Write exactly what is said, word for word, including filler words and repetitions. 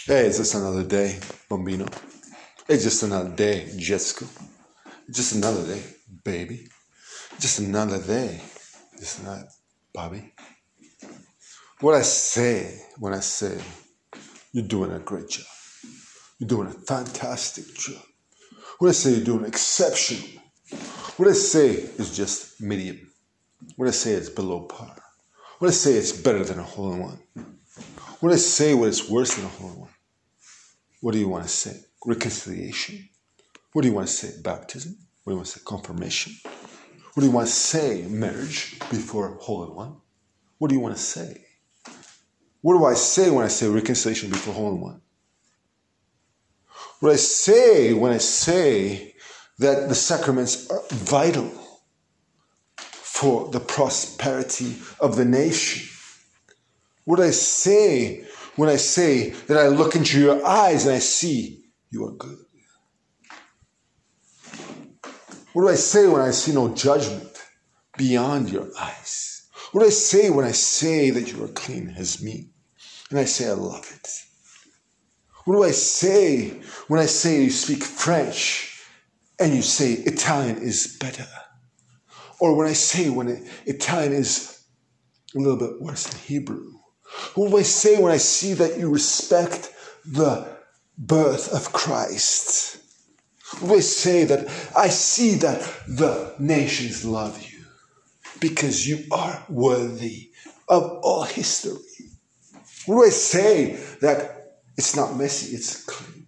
Hey, it's just another day, Bambino. It's just another day, Jessica. It's just another day, baby. Just another day. Just another, Bobby. What I say when I say you're doing a great job. You're doing a fantastic job. What I say you're doing exceptional. What I say is just medium. What I say is below par. What I say is better than a hole-in-one. What I say what is worse than a hole-in-one. What do you want to say? Reconciliation? What do you want to say? Baptism? What do you want to say? Confirmation? What do you want to say? Marriage before hole-in-one? What do you want to say? What do I say when I say reconciliation before hole-in-one? What I say when I say that the sacraments are vital for the prosperity of the nation? What do I say when I say that I look into your eyes and I see you are good? What do I say when I see no judgment beyond your eyes? What do I say when I say that you are clean as me? And I say I love it. What do I say when I say you speak French and you say Italian is better? Or when I say when Italian is a little bit worse than Hebrew? What do I say when I see that you respect the birth of Christ? What do I say that I see that the nations love you because you are worthy of all history? What do I say that it's not messy, it's clean?